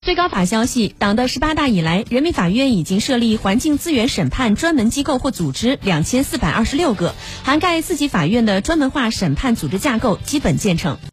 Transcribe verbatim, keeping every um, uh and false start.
最高法消息，党的十八大以来，人民法院已经设立环境资源审判专门机构或组织两千四百二十六个，涵盖四级法院的专门化审判组织架构基本建成。